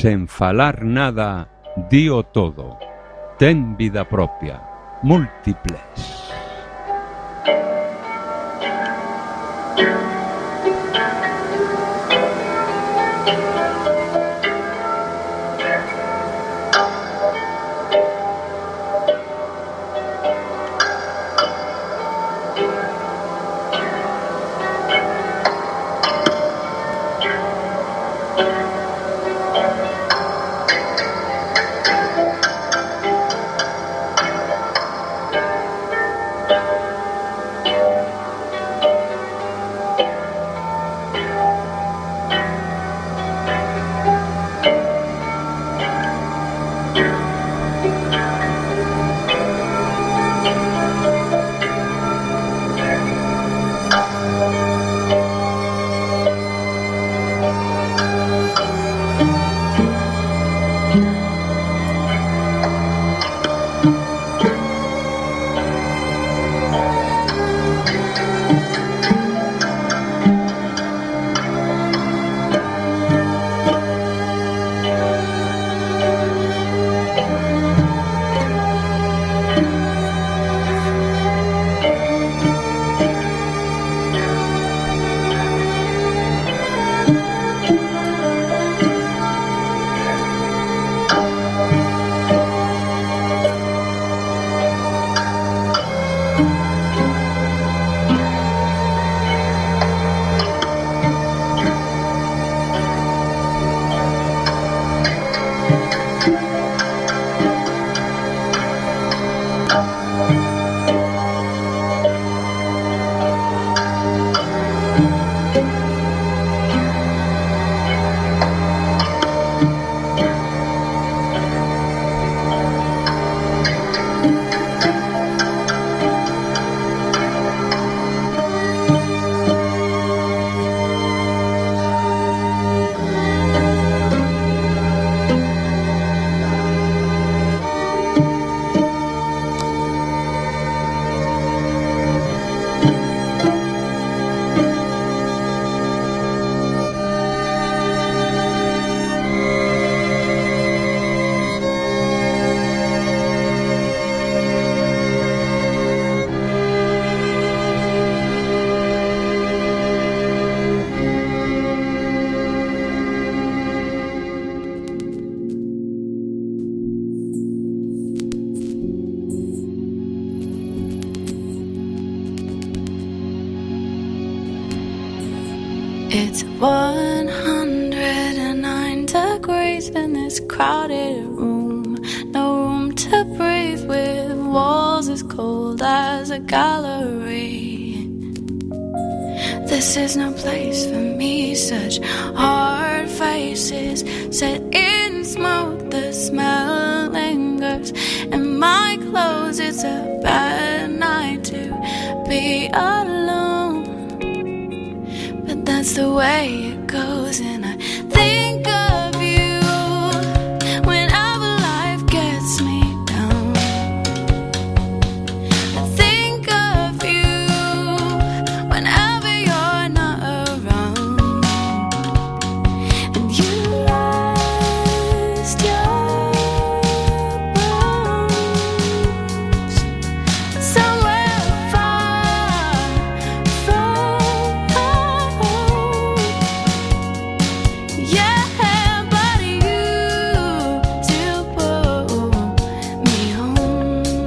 sen falar nada, dío todo. Ten vida propia, múltiples. It's 109 degrees in this crowded room. No room to breathe with walls as cold as a gallery. This is no place for me, such hard faces set in smoke. The smell lingers in my clothes. It's a bad night to be alone, but that's the way it goes. And I think of you whenever life gets me down. I think of you whenever you're not around, and you lost your bones somewhere far from home. Yeah, but you still pull me home.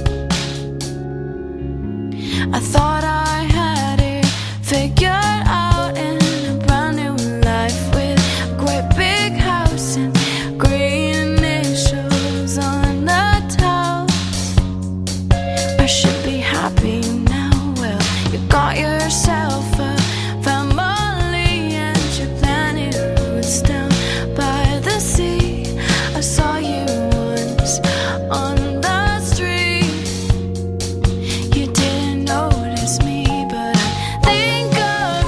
I thought I had it figured out in a brand new life with a great big house and grey initials on the tiles. I should be happy now. Well, you got yourself a family and your planet roots down by the sea. I saw you once on the street. You didn't notice me, but I think of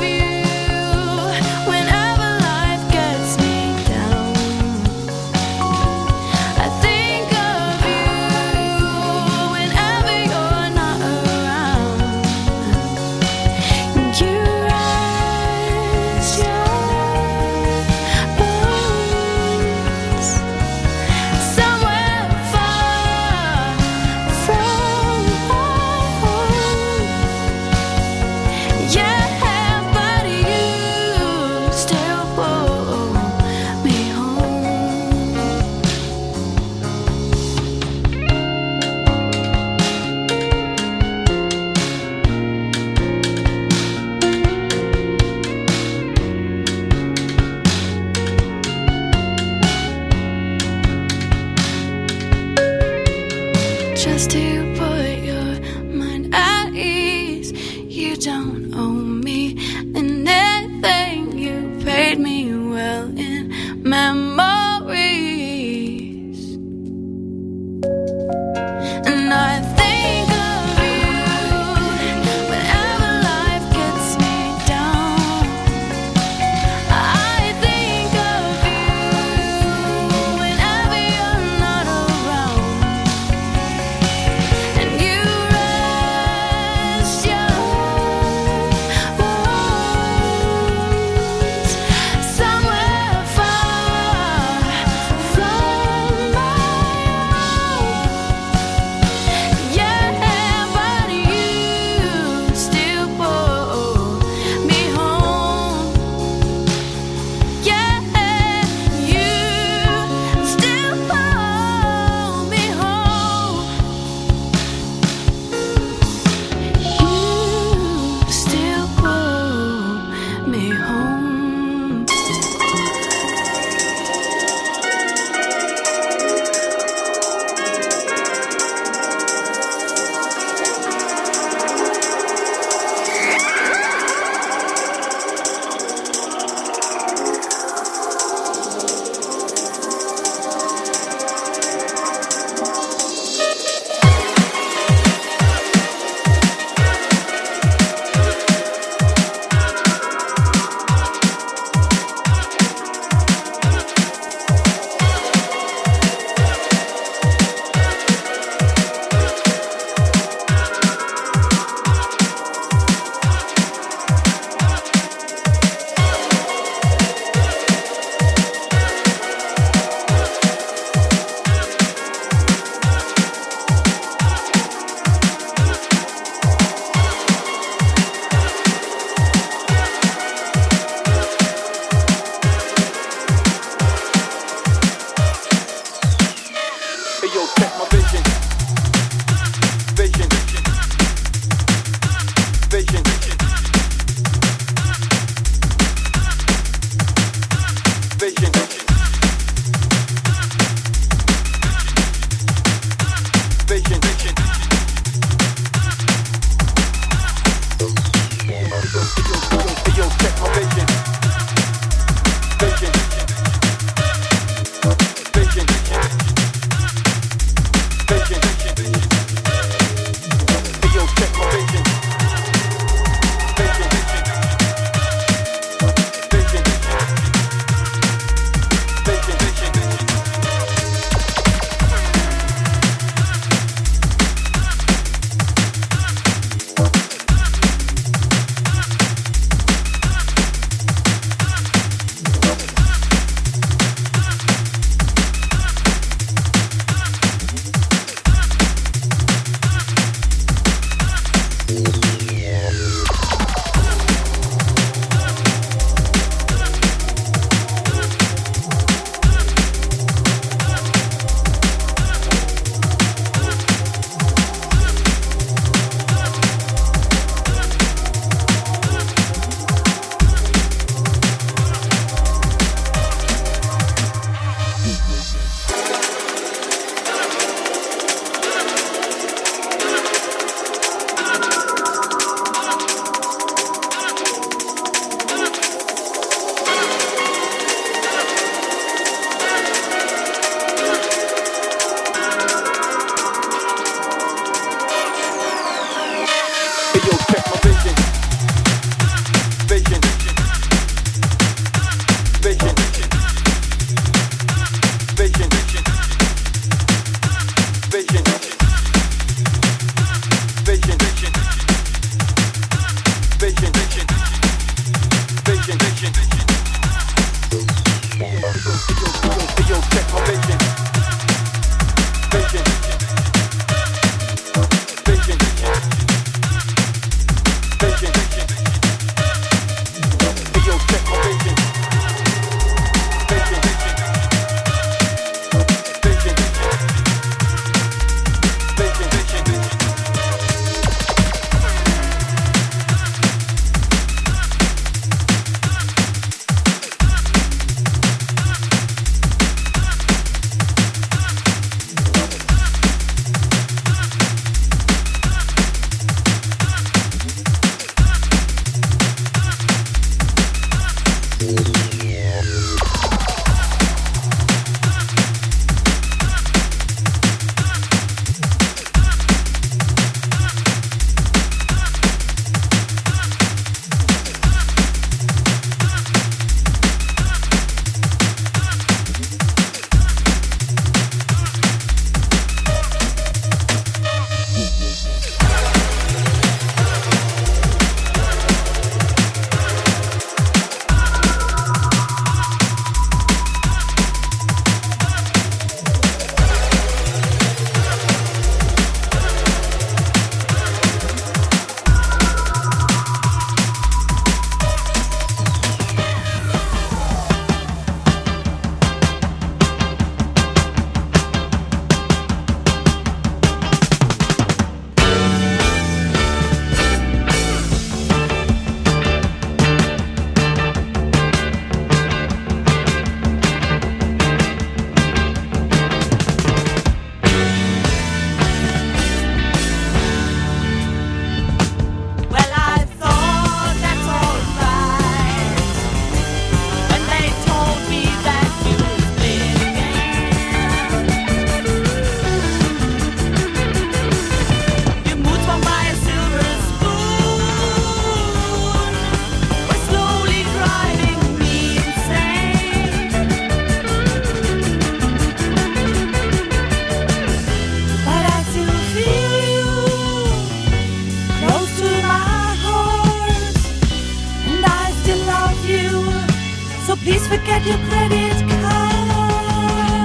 please forget your credit card.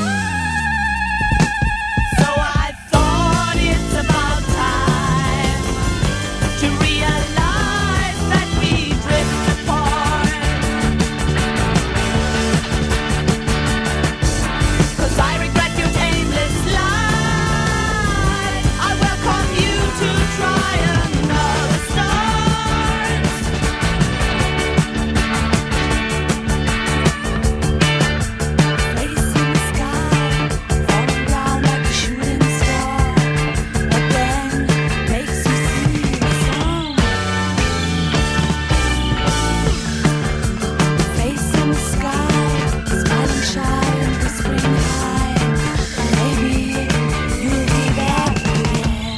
So I thought it's about time to realize that we drift apart. 'Cause I regret your aimless life. I welcome you to try another start. Face in the sky, falling down like a shooting star. Again, makes you sing a song. Face in the sky, smiling shy and whispering high. Maybe you'll be back again.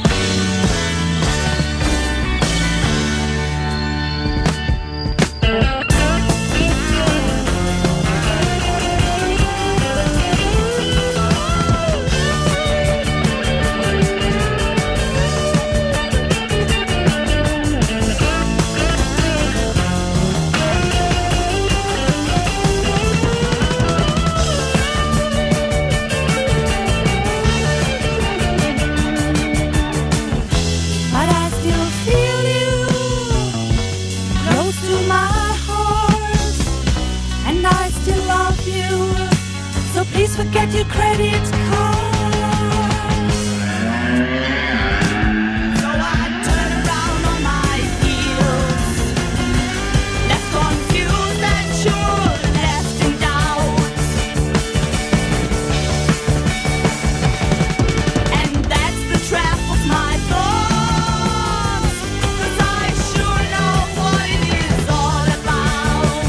But I still feel you close to my heart, and I still love you. So please forget your credit card. So I turn around on my heels, left confused and sure, left in doubt. And that's the trap of my thoughts, 'cause I sure know what it is all about.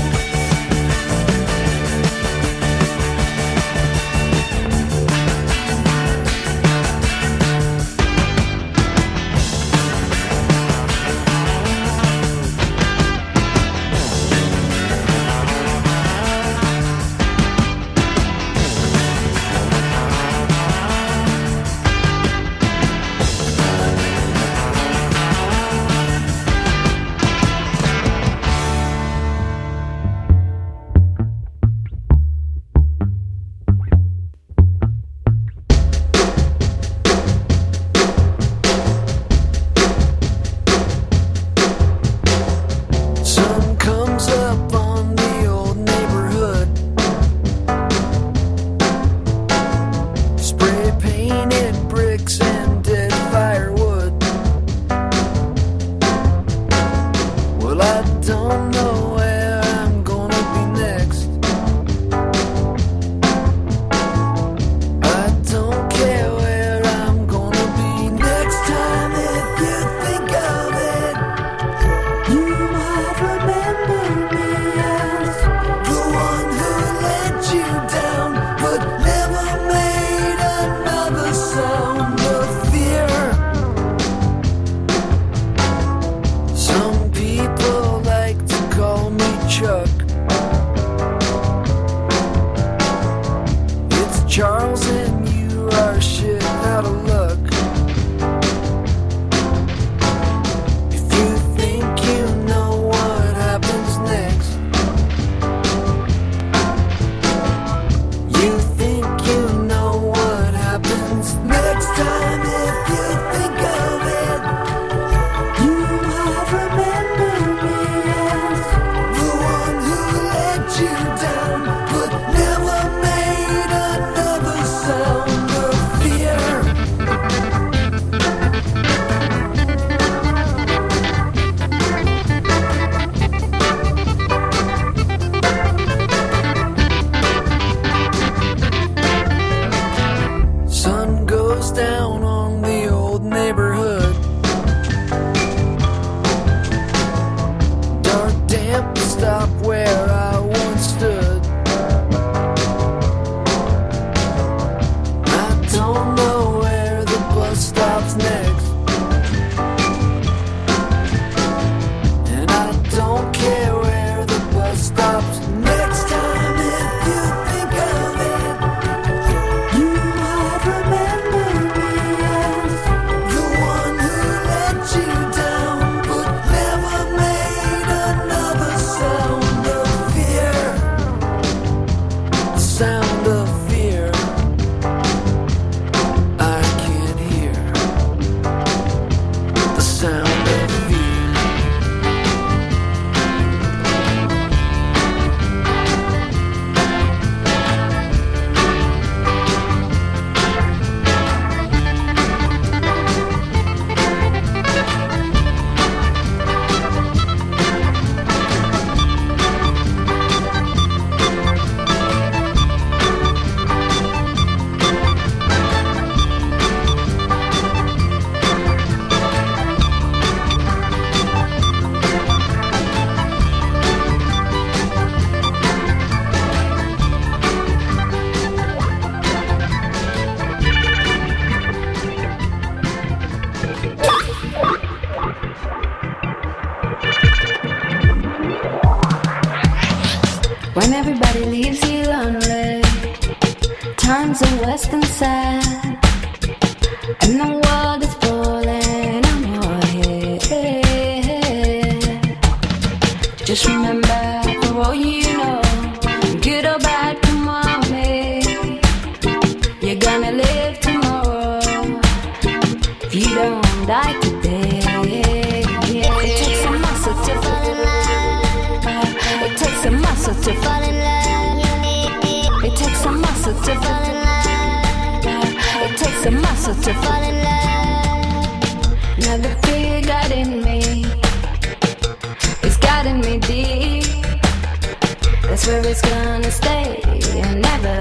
Sun comes up on the old neighborhood. Spray painted bricks and dead firewood. Well, I don't know where I'm gonna be next. I don't care where I'm gonna be next time. If you think of it, you might remember me as the one who let you down, but never made another sound of fear. Some people like to call me Chuck. It's Charles and you are shit out of luck. If you think you know what happens next, you think you know what happens next time. If you think of it, you might remember me as the one who let you down, but never made another sound of fear. Sun goes down on the old neighborhood. Dark, damp, stop where I once stood. I don't know where the bus stops next, and I don't care where the bus stops next time. If you think of it, you might remember me as the one who let you down, but never made another sound of fear. When everybody leaves you lonely, times are worse than sad, and the world is falling on your head. Just remember, for all you know, good or bad, come on me. You're gonna live tomorrow if you don't die today. It takes a muscle to fall in love. It takes a muscle to fall in love. It takes a muscle to fall in love. It takes a muscle to fall in love. Now the fear got in me, it's gotten me deep. That's where it's gonna stay and never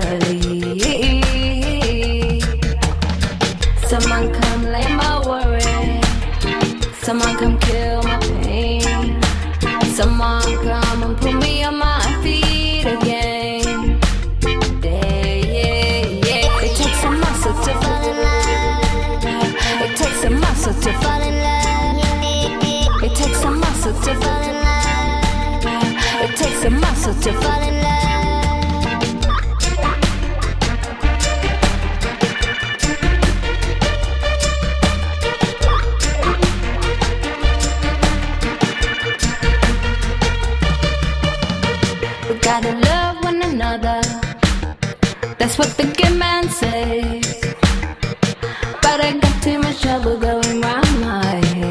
leave. Someone come lay my worry, someone come kill my pain, someone come and put me on my feet again. Yeah. It takes a muscle to fall in love. It takes a muscle to fall in love. It takes a muscle to fall in love. It takes a muscle to fall in love. We gotta love one another, that's what the good man says. But I got too much trouble going round my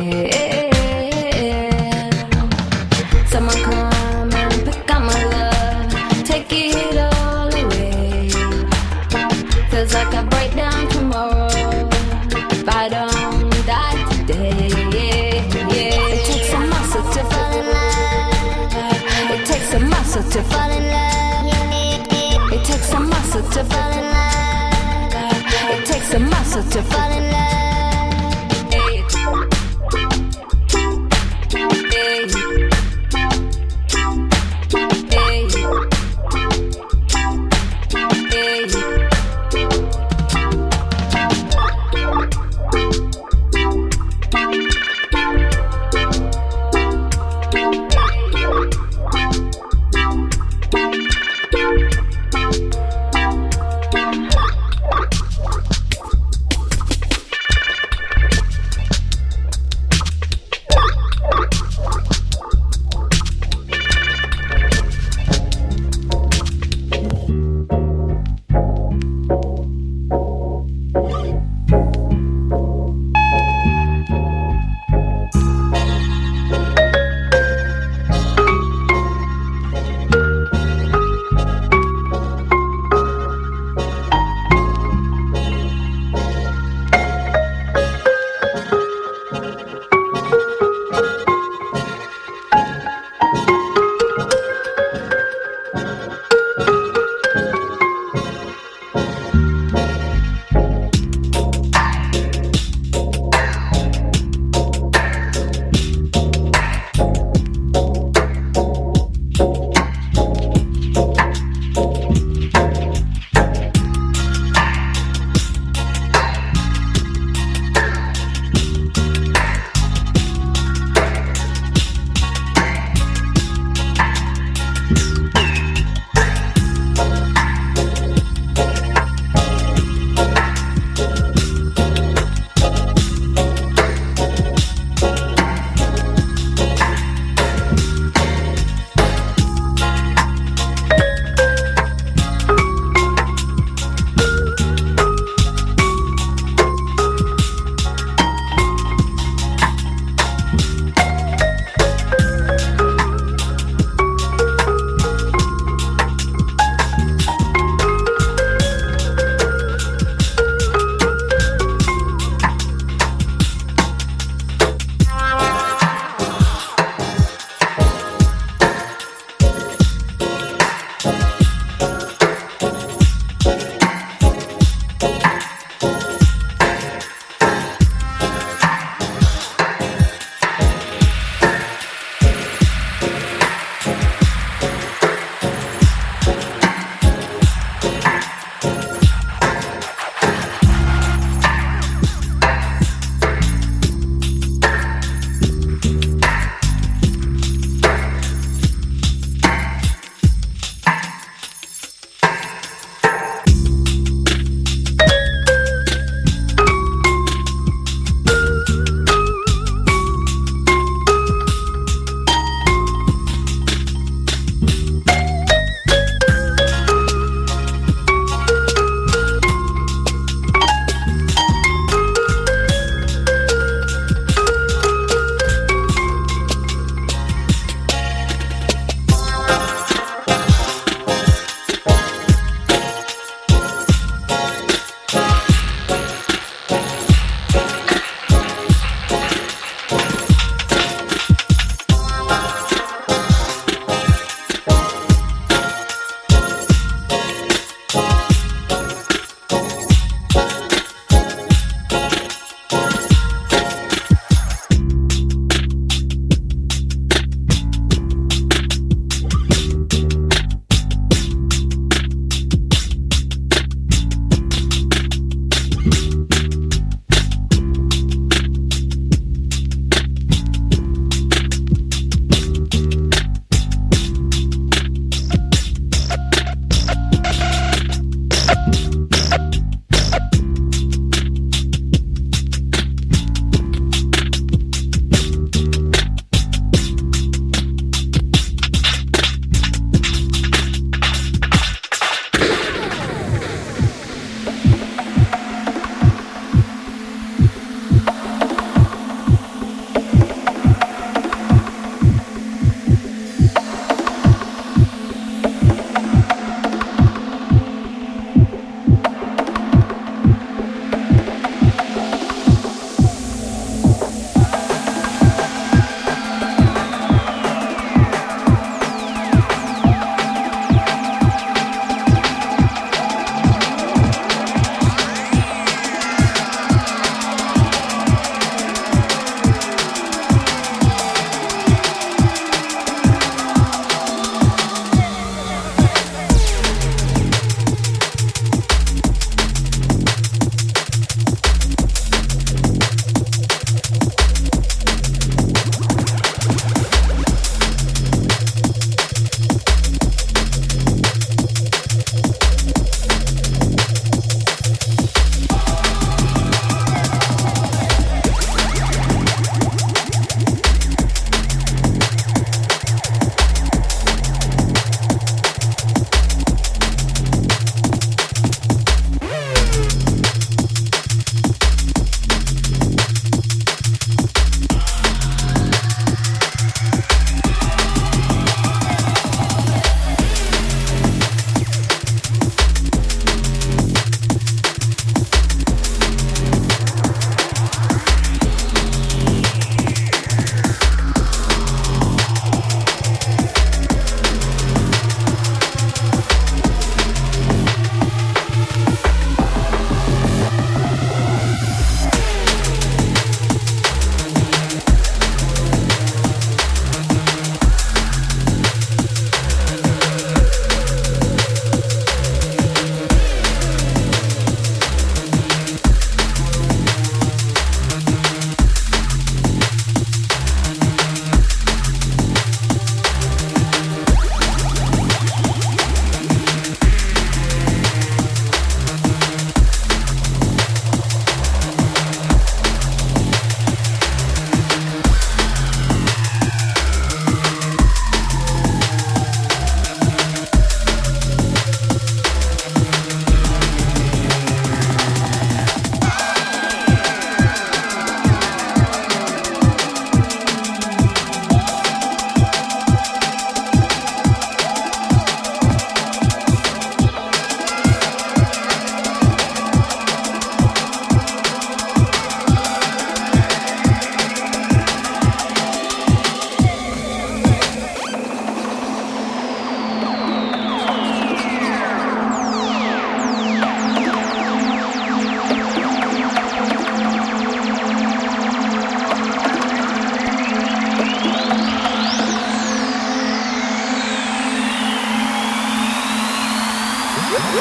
head. Someone come and pick up my love, take it all away. Feels like I break down tomorrow if I don't die today. It takes a muscle to fall in love. It takes a muscle to fall in love. It takes a muscle to fall in love. It takes a muscle to fall in love.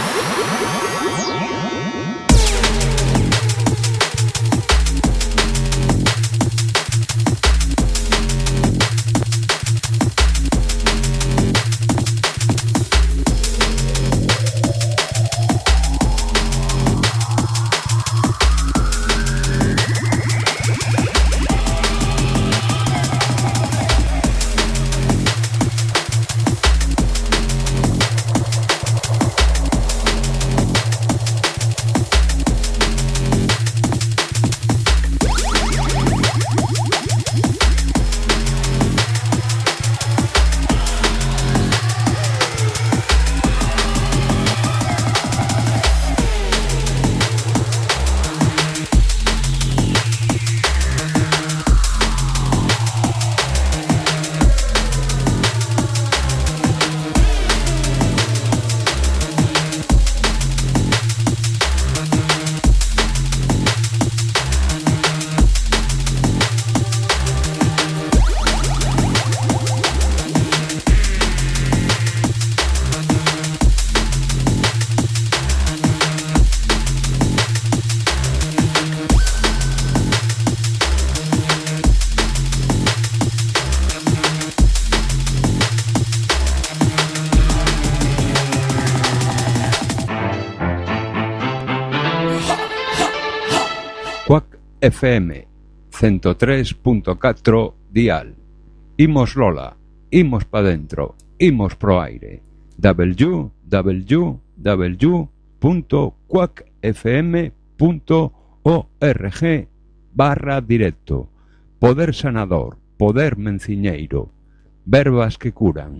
FM 103.4 dial. Imos Lola, imos pa dentro, imos pro aire. www.quackfm.org/directo. Poder sanador, poder menciñeiro, verbas que curan.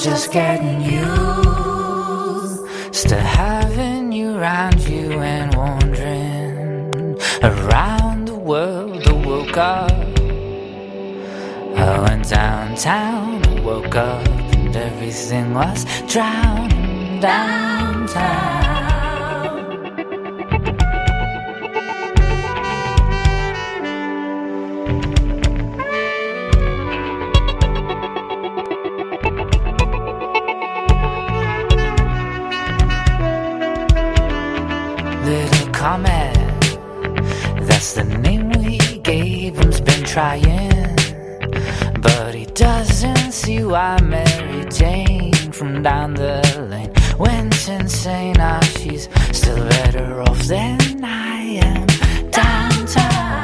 just getting used to having you around you and wandering around the world. I woke up, I went downtown, I woke up and everything was drowning downtown. Comet, that's the name we gave him. He's been trying, but he doesn't see why Mary Jane from down the lane went insane. Now she's still better off than I am downtown.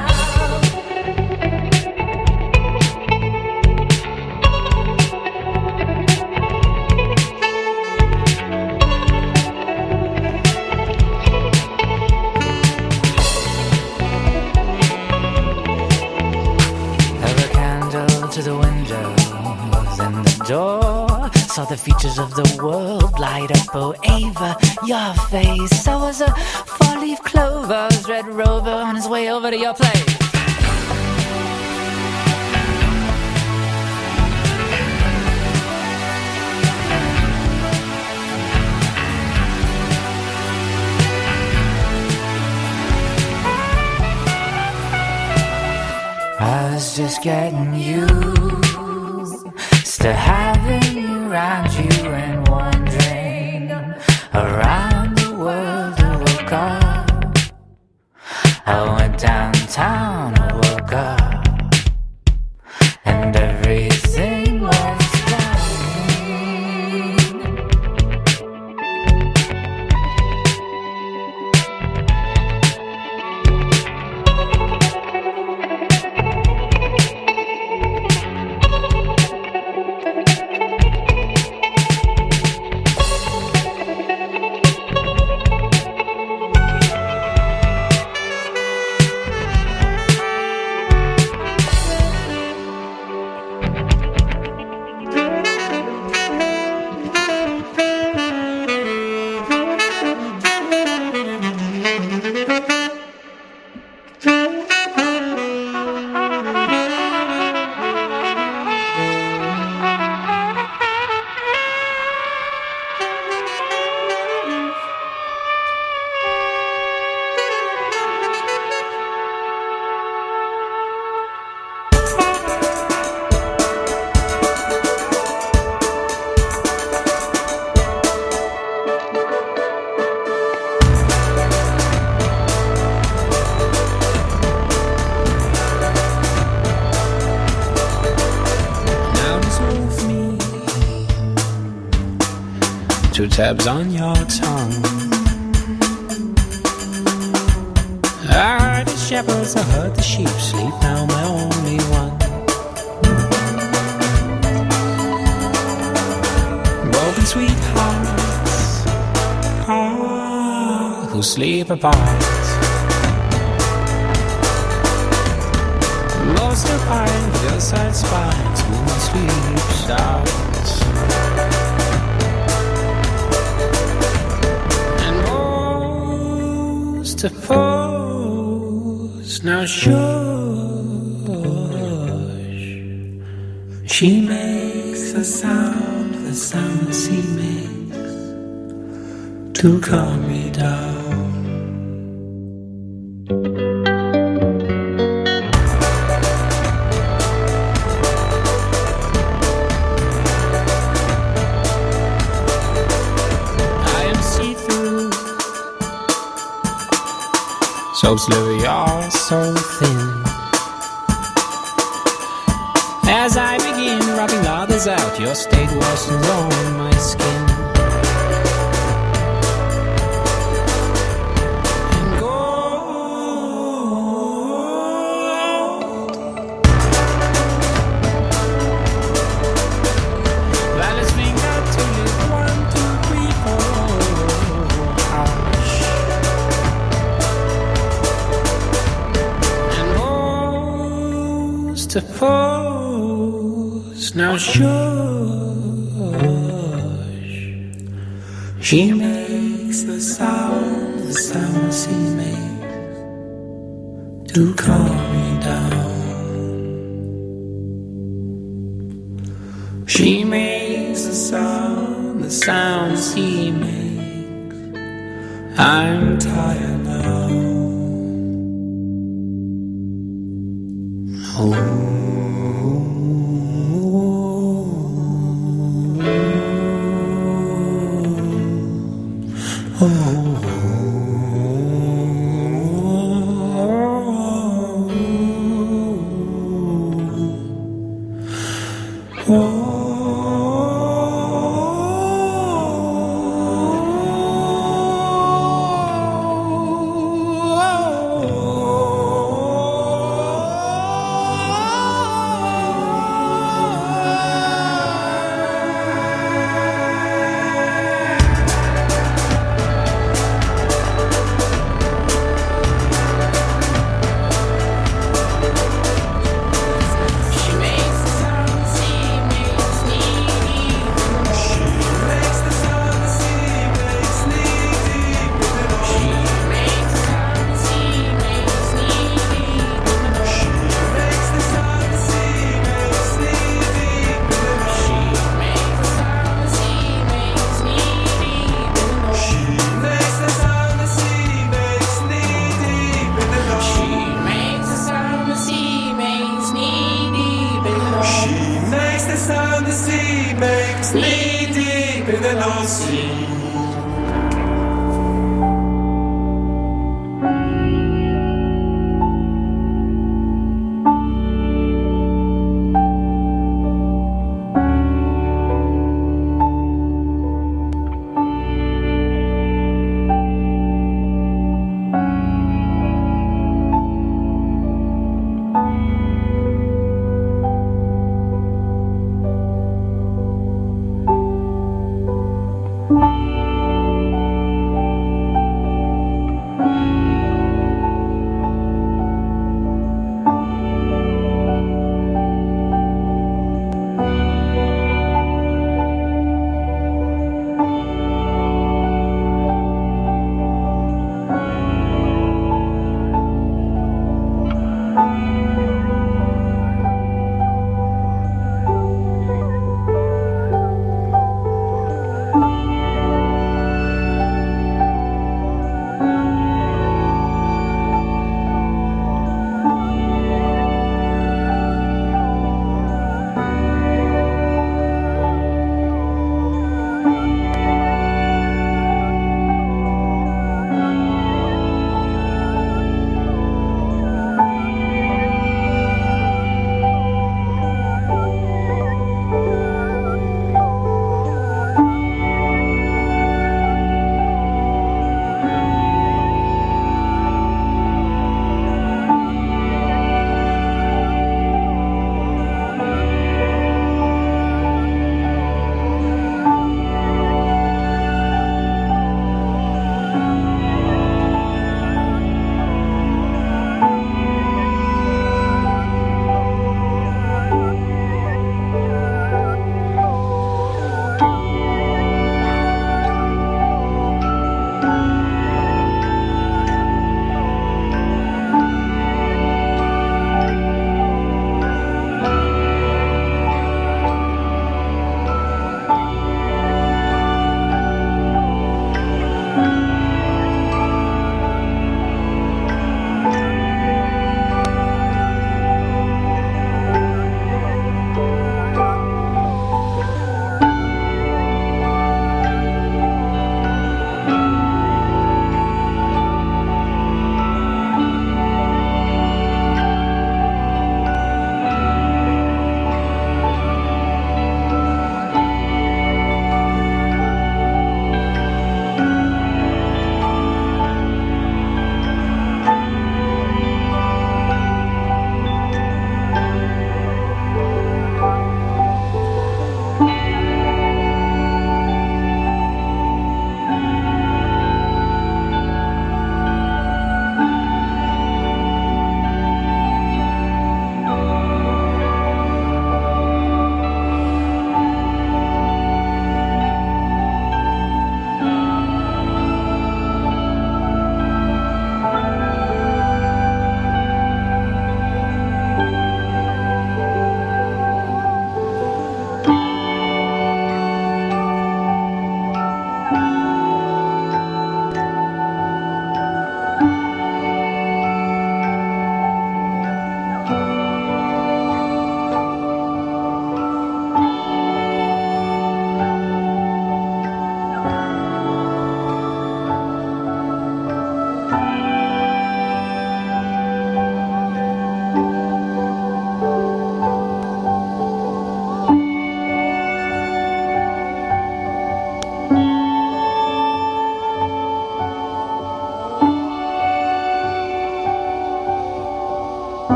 To the window, then the door. Saw the features of the world light up. Oh, Ava, your face. I was a four-leaf clover's red rover on his way over to your place. I was just getting used to having you around you and wandering around the world. I woke up, I went downtown, I woke up, and everything was two tabs on your tongue. I heard the shepherds, I heard the sheep sleep, now my only one. Broken sweethearts, who sleep apart. Most of pine, hillside spines, moon sleeps out. To pose, now shush. She makes the sound she makes to calm me down. So slowly you're so thin. As I begin rubbing others out, your state worsens on my skin. And gold, Violet's finger to live 1, 2, 3, 4. Hush. To pose, now sure. She makes the sound the sea makes to calm me down. She makes the sound the sea makes. I'm tired now. Oh.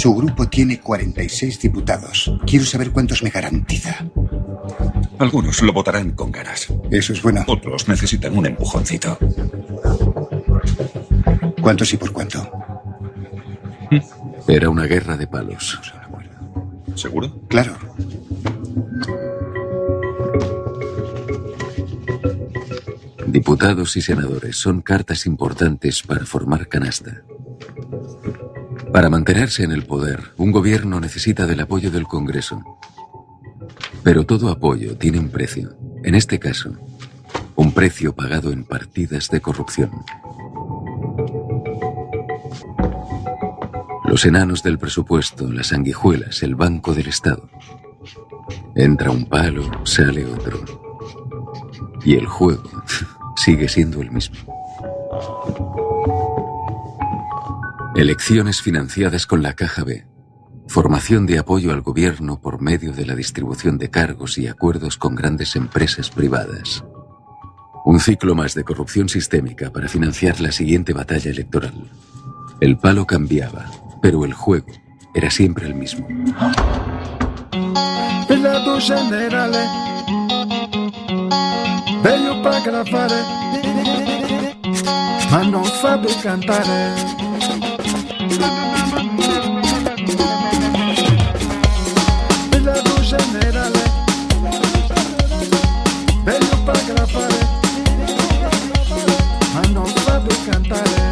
Su grupo tiene 46 diputados. Quiero saber cuántos me garantiza. Algunos lo votarán con ganas. Eso es bueno. Otros necesitan un empujoncito. ¿Cuántos y por cuánto? Era una guerra de palos. ¿Seguro? Claro. Diputados y senadores son cartas importantes para formar canasta. Para mantenerse en el poder, un gobierno necesita del apoyo del Congreso. Pero todo apoyo tiene un precio. En este caso, un precio pagado en partidas de corrupción. Los enanos del presupuesto, las sanguijuelas, el Banco del Estado. Entra un palo, sale otro. Y el juego sigue siendo el mismo. Elecciones financiadas con la Caja B. Formación de apoyo al gobierno por medio de la distribución de cargos y acuerdos con grandes empresas privadas. Un ciclo más de corrupción sistémica para financiar la siguiente batalla electoral. El palo cambiaba, pero el juego era siempre el mismo. Pilato generale, veio pra gravare, ma non sabe cantare. Pilato generale, veio pra gravare, ma non sabe cantare.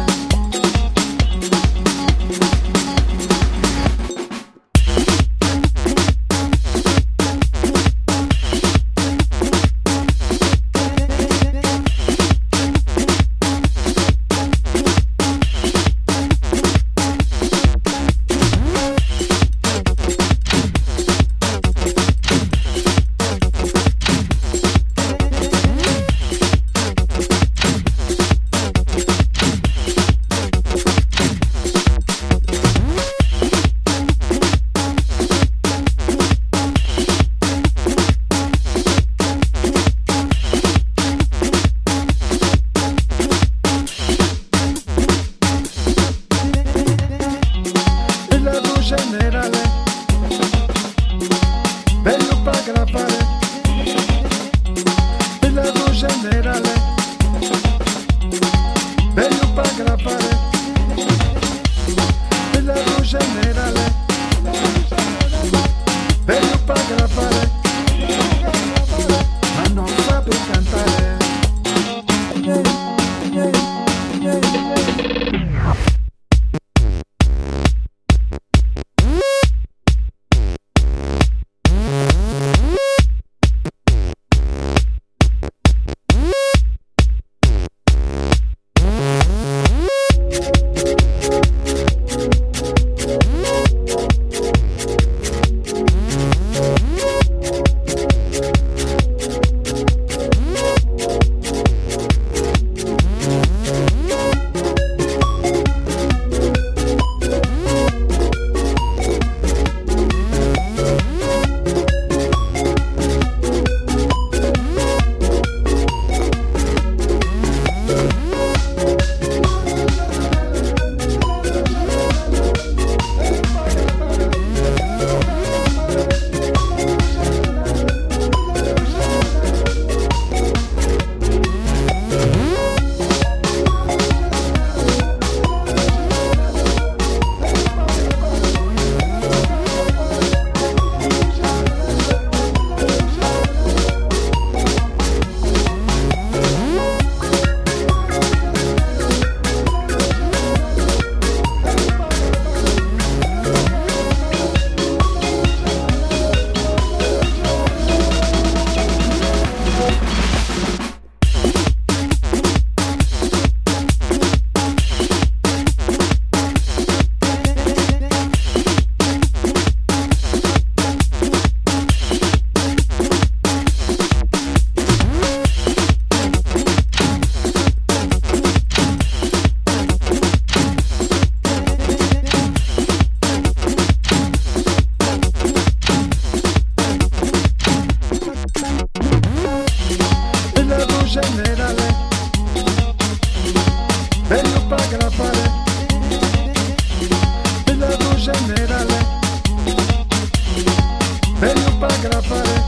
grafare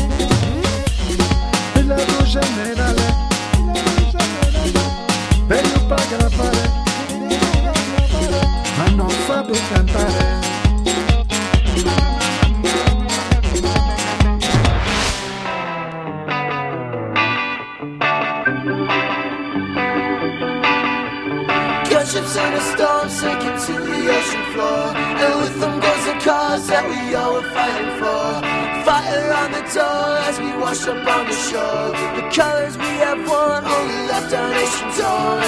e la tua generale bello pa grafare ma non fa più cantare. Gunships in a storm sinking to the ocean floor, and with them goes the cause that we all were fighting for. Fire on the door as we wash up on the shore. The colors we have worn only left our nation torn.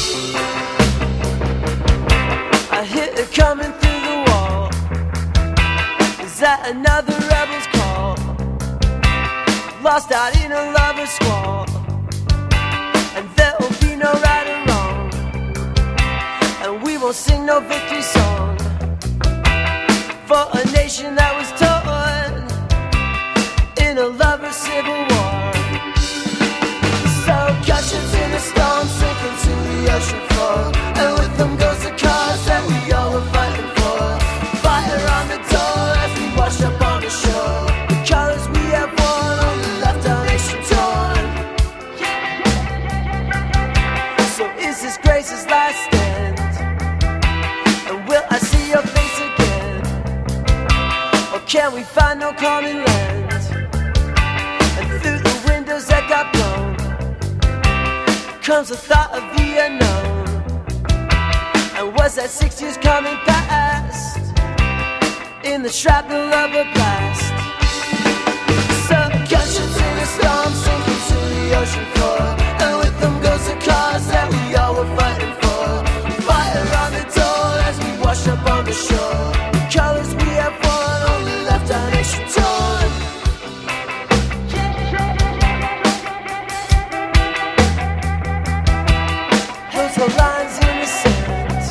I hear it coming through the wall. Is that another rebel's call? Lost out in a lover's squall, and there will be no right or wrong, and we won't sing no victory song for a nation that was torn in a lover's civil war. So gunships in the storm sinking to the ocean floor, and with them goes the cause that we all were fighting for. Fire on the door as we wash up on the shore. The colors we have worn only left our nation torn. So is this Grace's last stand? And will I see your face again? Or can we find no common land? And through the windows that got blown comes the thought of the unknown. And was that 6 years coming past in the shrapnel of a blast? So gunships in a storm sinking to the ocean floor, and with them goes the cause that we all were fighting for. Fire on the door as we wash up on the shore. The colors we have worn only left our nation torn. Those were lines in the sand,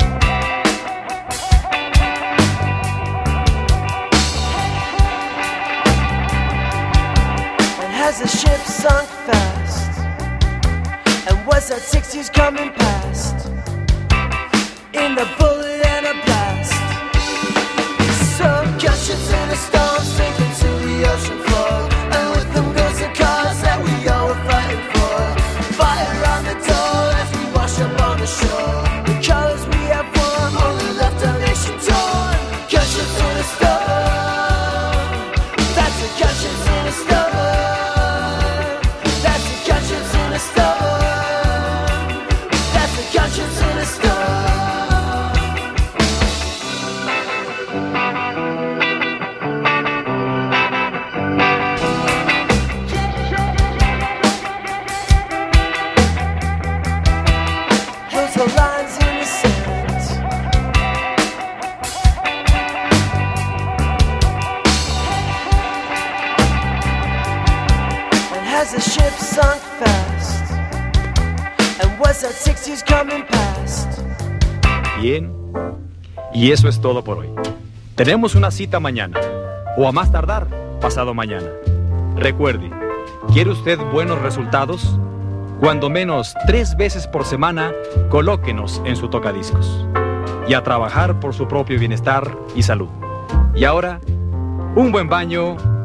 and has the ship sunk fast? And was that 6 years coming past in the bullet and a blast? So gunships in a storm sinking to the ocean floor, and with them goes the cause that we all were fighting for. Fire on the door as we wash up on the shore. The colors we have worn only left our nation torn. Gunships in a storm, that's the gunships in a storm. That's the gunships in a storm. That's the gunships in a storm. Those are lines in the sand, and has the ship sunk fast? And was that 6 years coming past? Bien, y eso es todo por hoy. Tenemos una cita mañana, o a más tardar, pasado mañana. Recuerde, ¿quiere usted buenos resultados? Cuando menos 3 veces por semana, colóquenos en su tocadiscos. Y a trabajar por su propio bienestar y salud. Y ahora, un buen baño